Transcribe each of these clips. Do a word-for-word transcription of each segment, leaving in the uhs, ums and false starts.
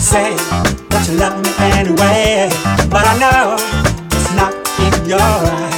say that you love me anyway, but I know it's not in your eyes.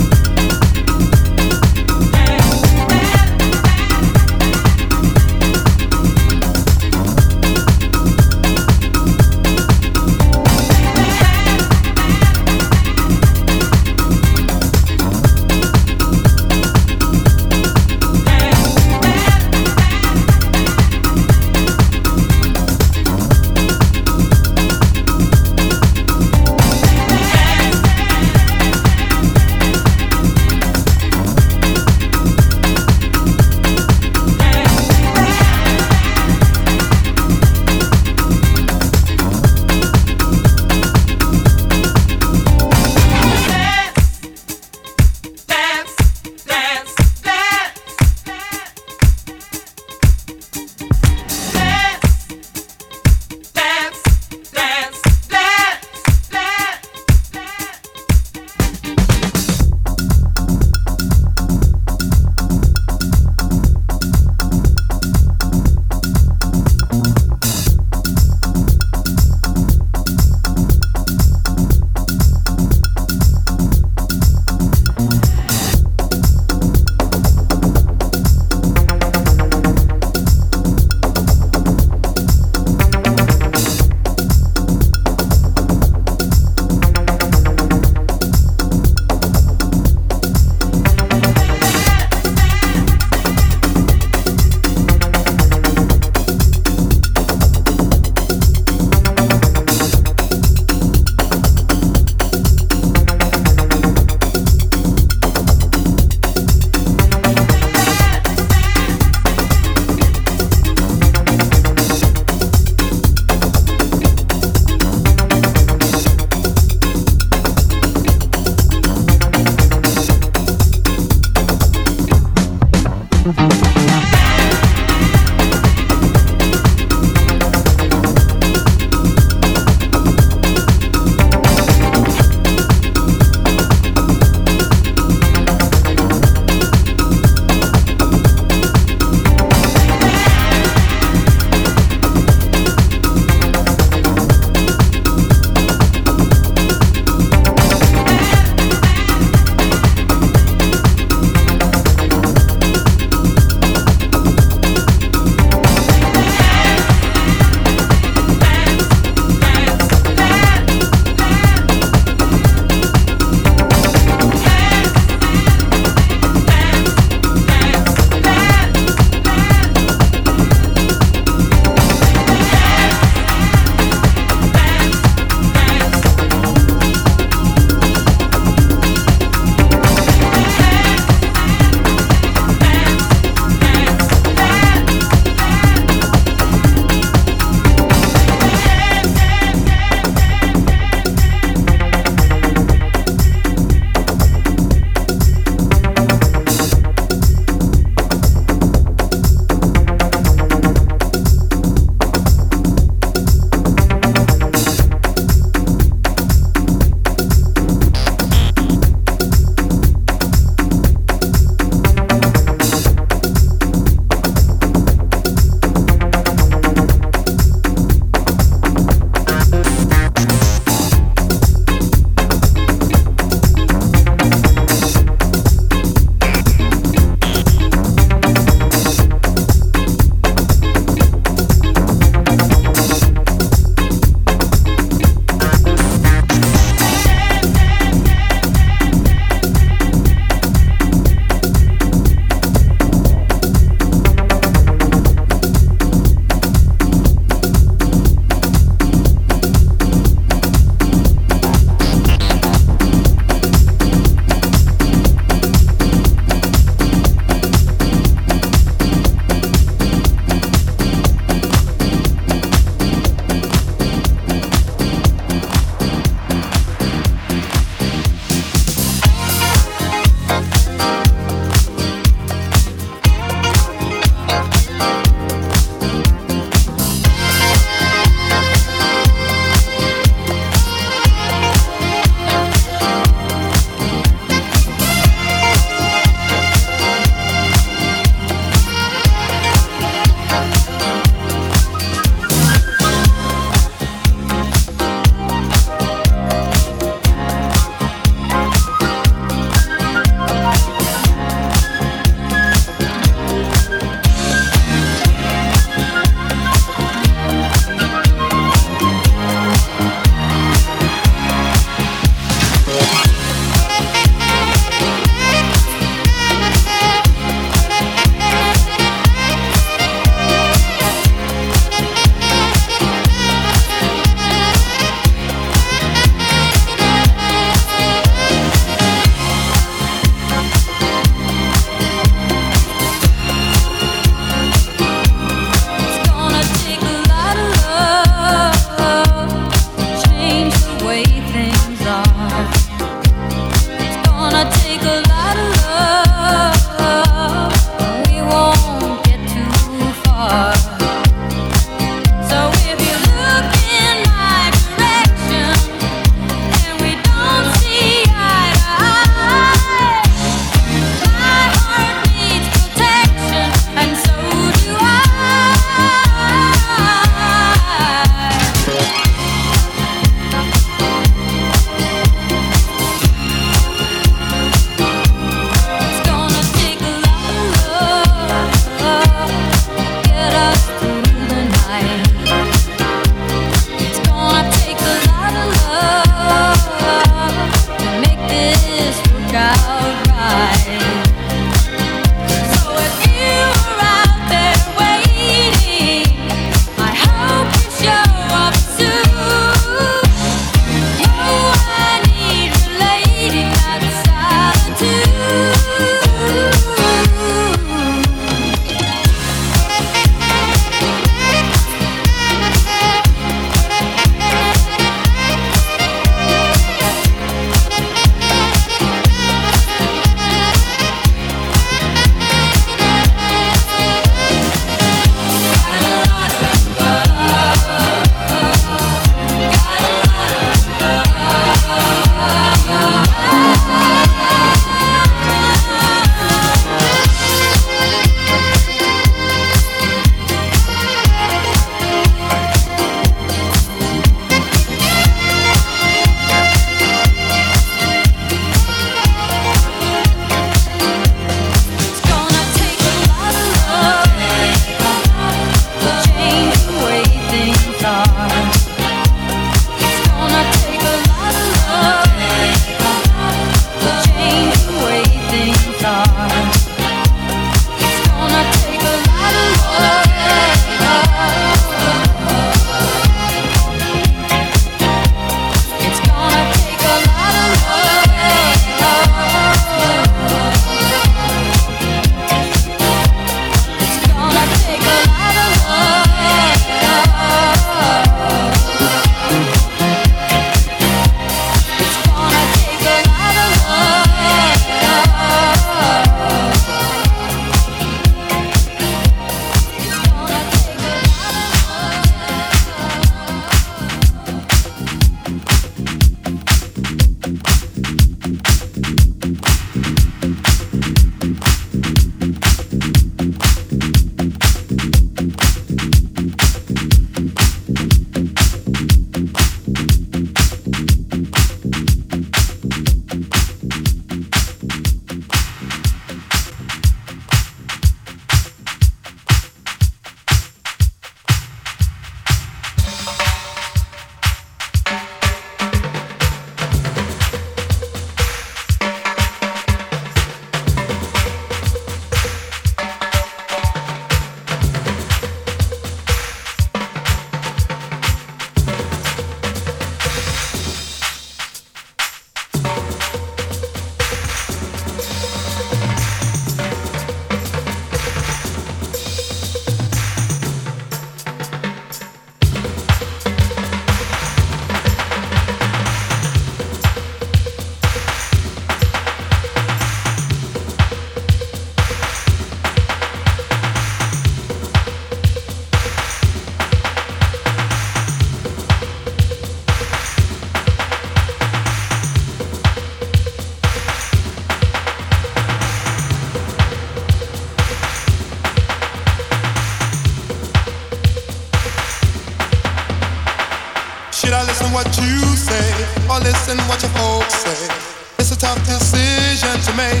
or listen what your folks say. It's a tough decision to make.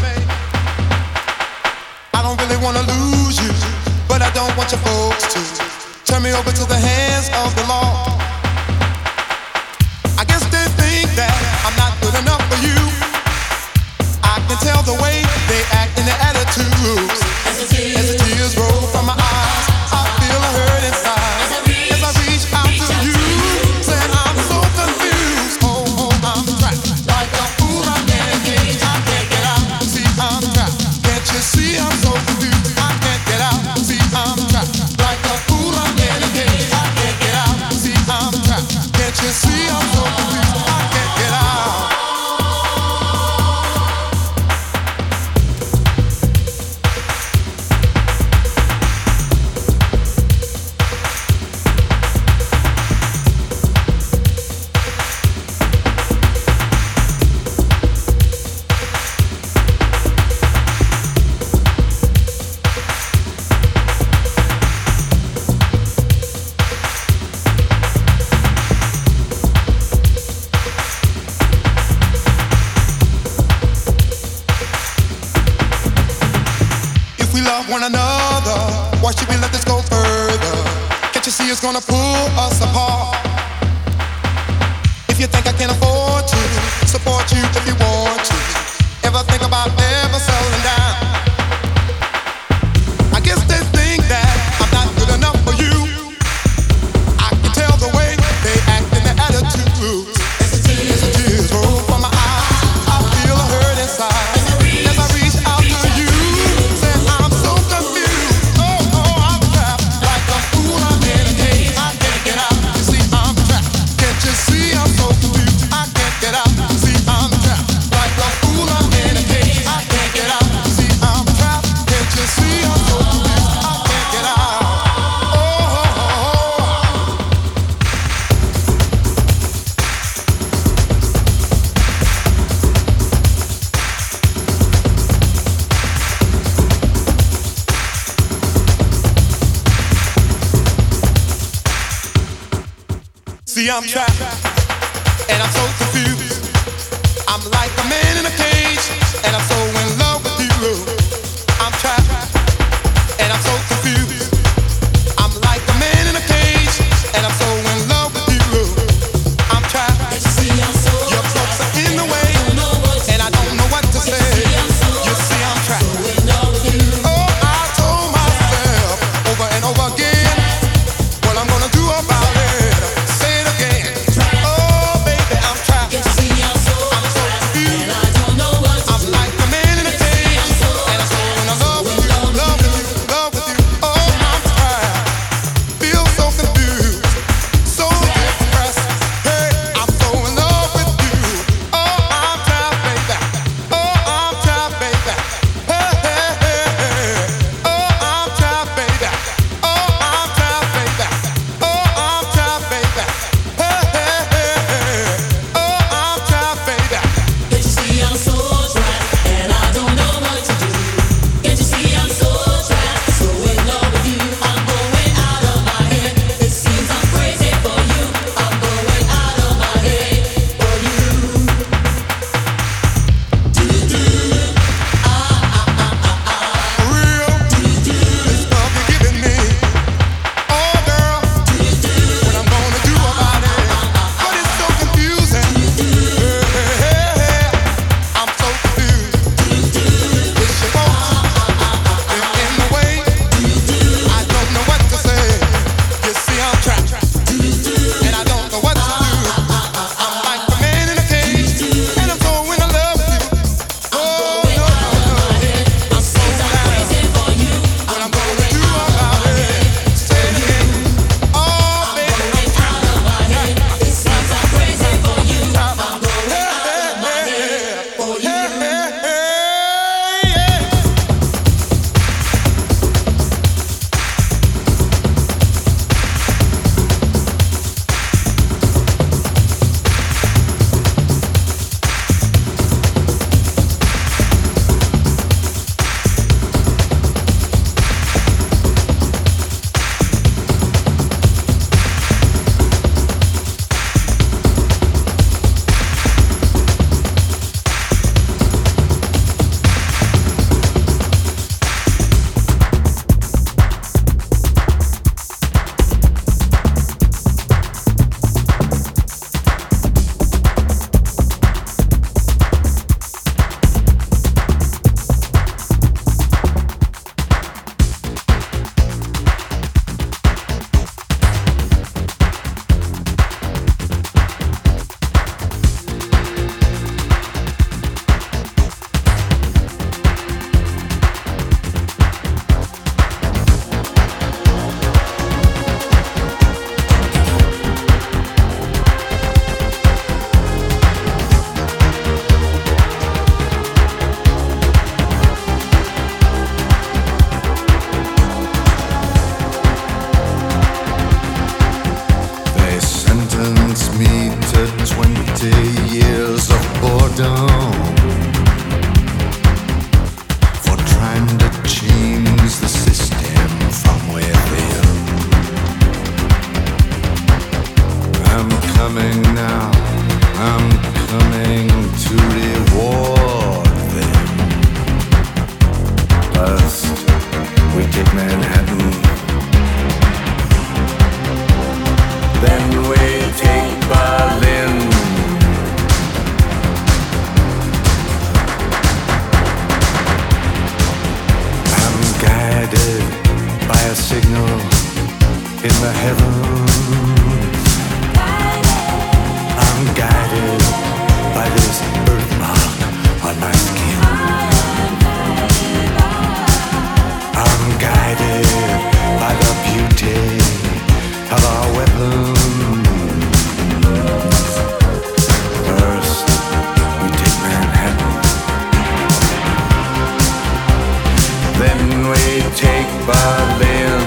I don't really wanna lose you, but I don't want your folks to turn me over to the hands of the law. I guess they think that I'm not good enough for you. I can tell the way they act in their attitudes. As the tears, As the tears roll from my eyes, I feel a hurt inside. As I reach, As I reach out to you, saying I'm so confused. Oh, oh, I'm trapped. Like a fool, I'm in a cage. I can't get out. See, I'm trapped. Can't you see I'm so confused? I can't get out. See, I'm trapped. Like a fool, I'm in a cage. I can't get out. See, I'm trapped. Can't you see I'm so confused? I can't get out. One another, why should we let this go further? Can't you see it's gonna pull us apart? If you think I can afford to support you if you want to, ever think about ever settling down? I guess they think that I'm not good enough for you. I can tell the way they act in their attitudes. As the tears, As the tears roll from my eyes, I feel a hurt inside. As I reach out to you, I'm trapped, and I'm so confused. I'm like a man in a cage, and I'm so in love with you. I'm trapped, and I'm so confused. I'm like a man in a cage, and I'm so in love with you. I'm trapped. Your folks are in the way, and I don't know what to say. You see, I'm trapped. Oh, I told myself over and over again what I'm gonna do about it. Oh, baby, I'm trapped. I'm so confused. I'm like a man. in the heavens. I'm guided by this birthmark on my skin. I'm guided by the beauty of our weapons. First, we take Manhattan. Then we take Berlin.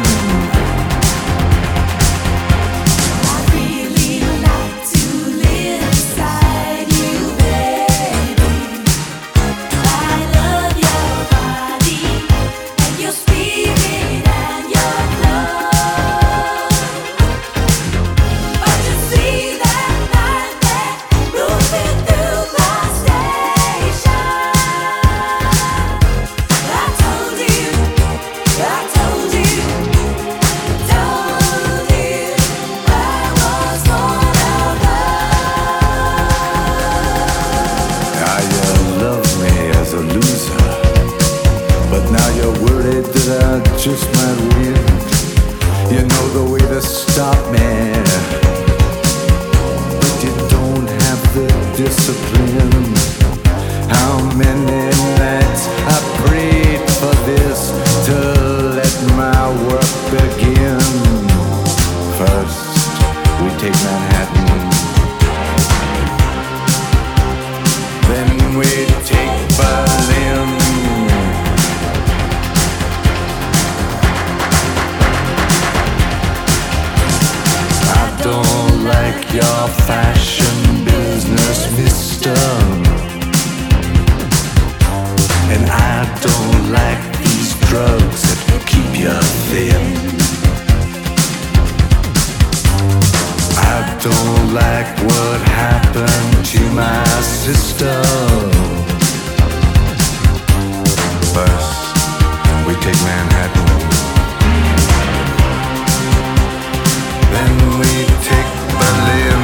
Just might win. You know the way to stop me, but you don't have the discipline. How many nights I prayed for this to let my work begin. First, we take Manhattan. Then we take Berlin. Don't like your fashion business, mister. And I don't like these drugs that keep you thin. I don't like what happened to my sister. First, we take Manhattan. Then we take Berlin.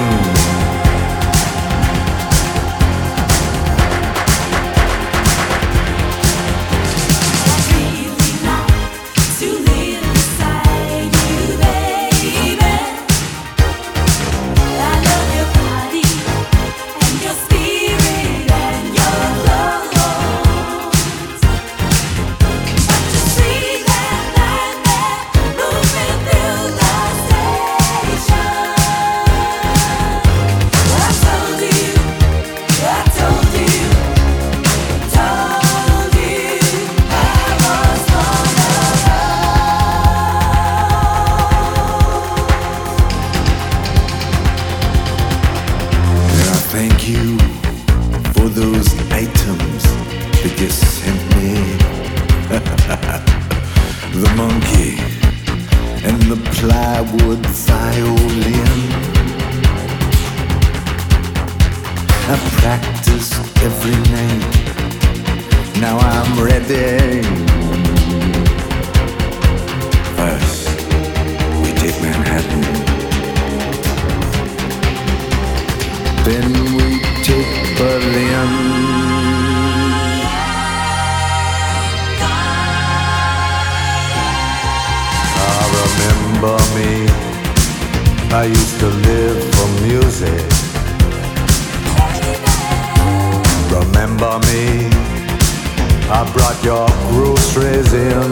I really like to live beside you, baby. I love your body and your spirit and your clothes. But you see that night there moving through the Thank you for those items that you sent me. The monkey and the plywood violin. I practice every night. Now I'm ready. First, we take Manhattan. Then we take Berlin. Ah, remember me? I used to live for music. Remember me? I brought your groceries in.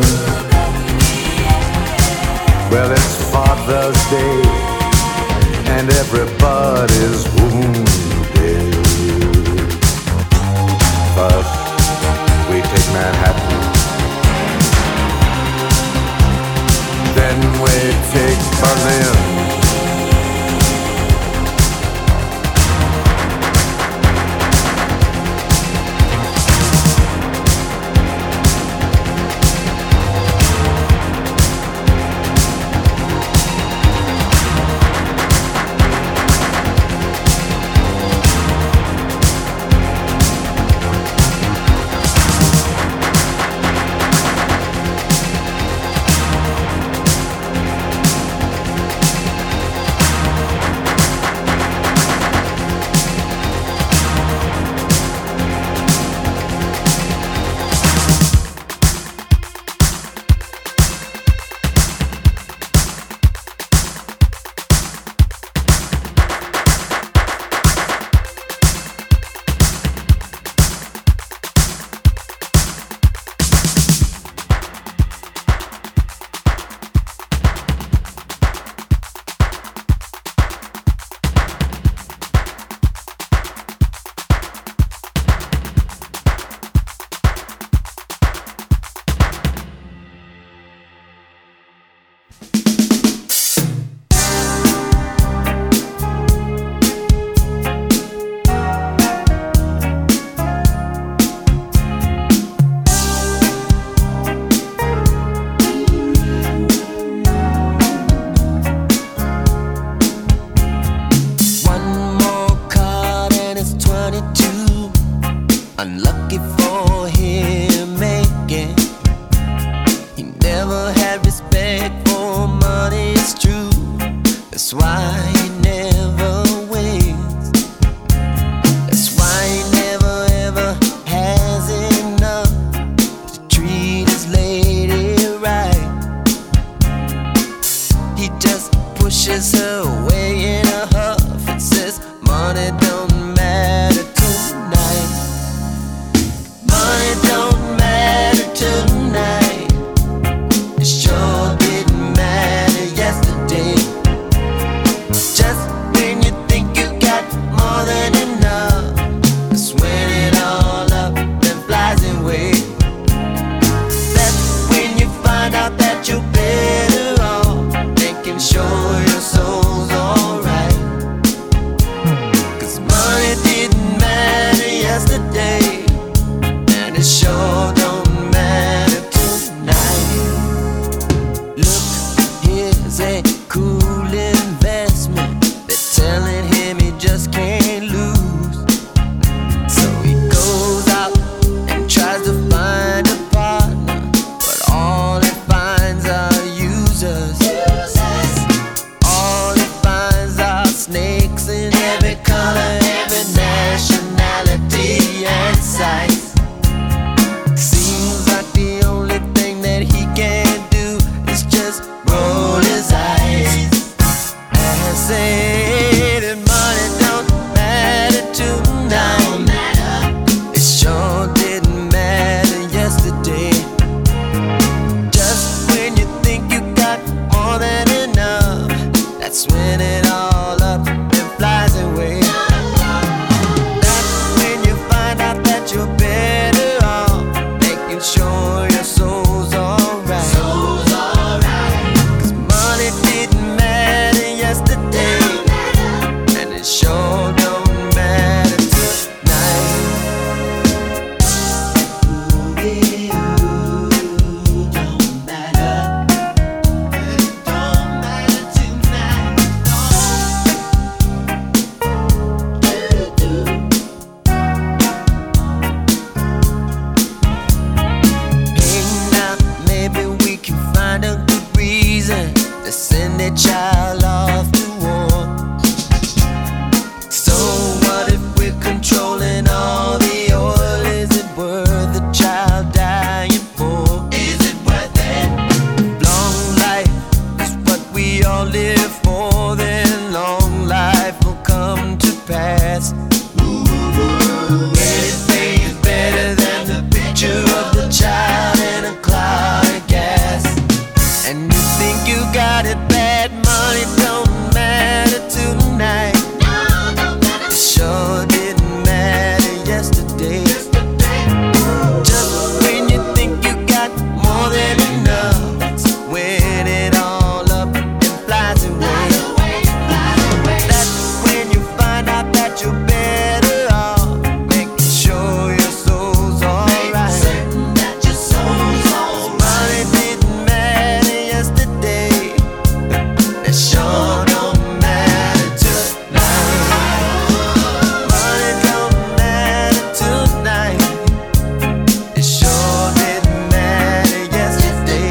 Well, it's Father's Day and everybody's wounded. First, we take Manhattan. Then we take Berlin. it for him making. He never had respect for money, it's true. That's why he never wins. That's why he never ever has enough to treat his lady right. He just pushes her away in a huff and says, money don't matter tonight. Money don't matter tonight. It sure didn't matter yesterday. Just when you think you got more than enough, that's when it all up and flies away. That's when you find out that you're better off making sure your soul's alright. Cause money didn't matter yesterday, and it sure don't matter tonight. Look, here's a cool investment. They're telling him he just can't lose. So he goes out and tries to find a partner, but all he finds are users. All he finds are snakes in every color, every nationality and size. Seems like the only thing that he can do is just roll his eyes and say that money don't matter tonight. It sure didn't matter yesterday. Just when you think you got more than enough, that's when it all up and flies away. That's when you find out that you're better off making sure your soul's alright. Soul's alright. Cause money didn't matter yesterday, and it sure don't matter tonight. Ooh, don't matter. It don't matter tonight. Hey, now maybe we can find a good reason to send a child off to war. So what if we're controlling all the oil? Is it worth the child dying for? Is it worth it? Long life is what we all live for, then long life will come to pass. Anything is better than the picture of the child in a cloud of gas. And you think you got it bad, money don't matter tonight. It sure didn't matter yesterday. Just when you think you got more than enough, that's when it all up and flies away. That's when you find out that you're better off making sure your soul's alright. Money didn't matter yesterday, it sure don't matter tonight. Money don't matter tonight, it sure didn't matter yesterday.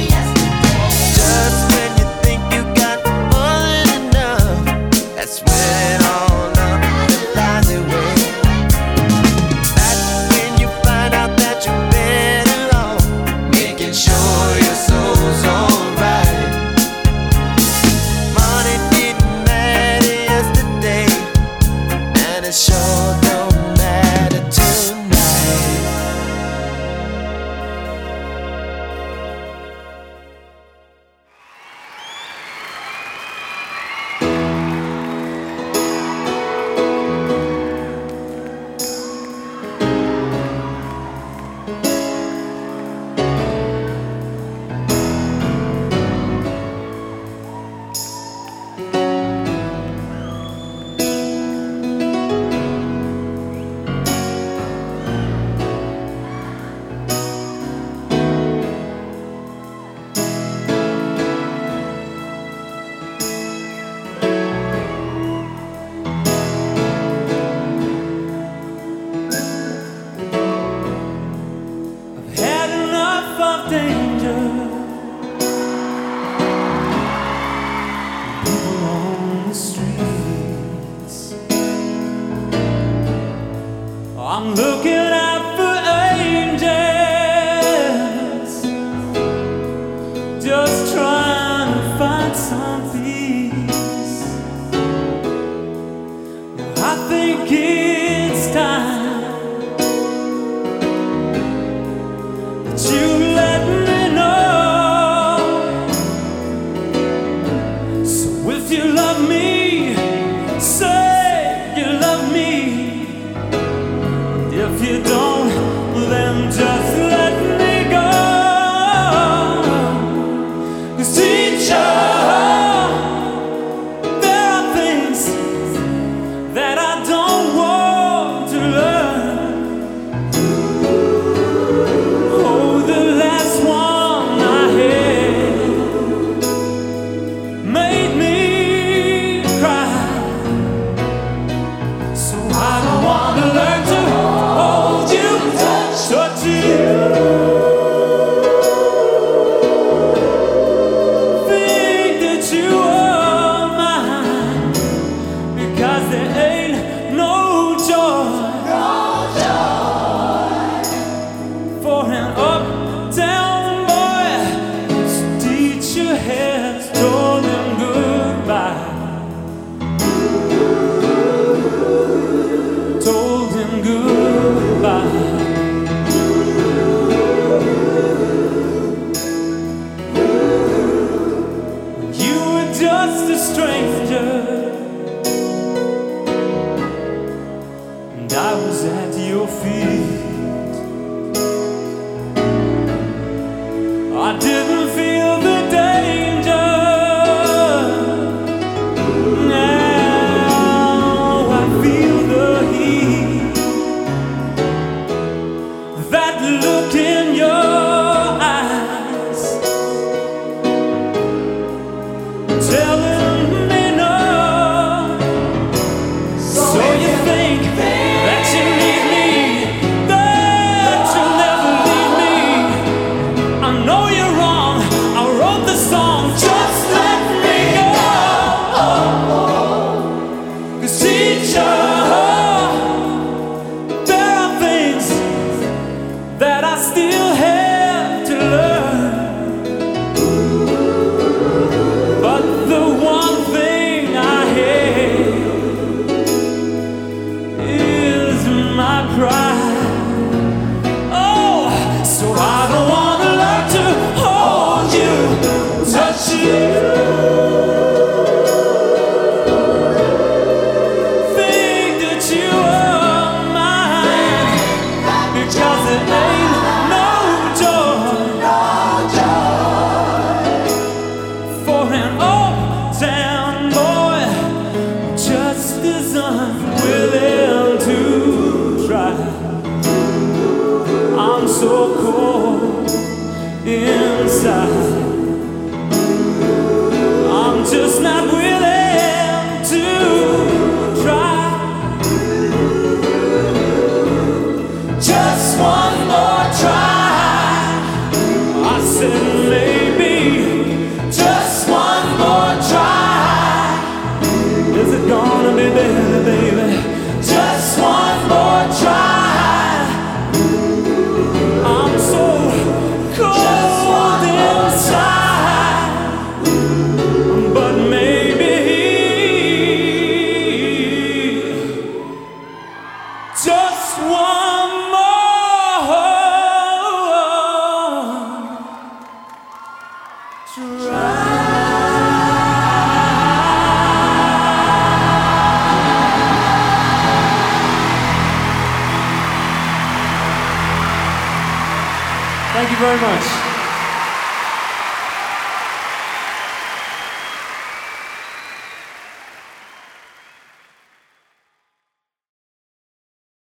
Just when you think you got more than enough, that's when it all up and flies away. That's when you find out that you're better off making sure your soul's alright. Money didn't matter yesterday, and it sure don't matter tonight. just let me go. 'Cause teacher, there are things that I don't want to learn. Oh, the last one I had made me cry. So I don't want to learn to hold you, touch you, think that you are mine, because there ain't no joy for an uptown boy. His teacher has told him goodbye, told him goodbye. You were just a stranger, and I was at your feet. I didn't feel the danger. Now I feel the heat. That look in your eyes, telling me no. So you think that you need me, that you'll never leave me. I know you're wrong. I wrote the song. Just let me go. 'Cause teacher, there are things that I still have to learn. But the one thing I hate is my pride. Oh, so I don't want to learn to hold you, touch you, think that you are mine, because there ain't no joy for an uptown boy just as unwilling to try. I'm so cold inside. I'm just not willing to try. Just one more try. I said maybe just one more try. Is it gonna be better, baby? Just one more try. I'm so cold inside, but maybe just one more try. Thank you very much.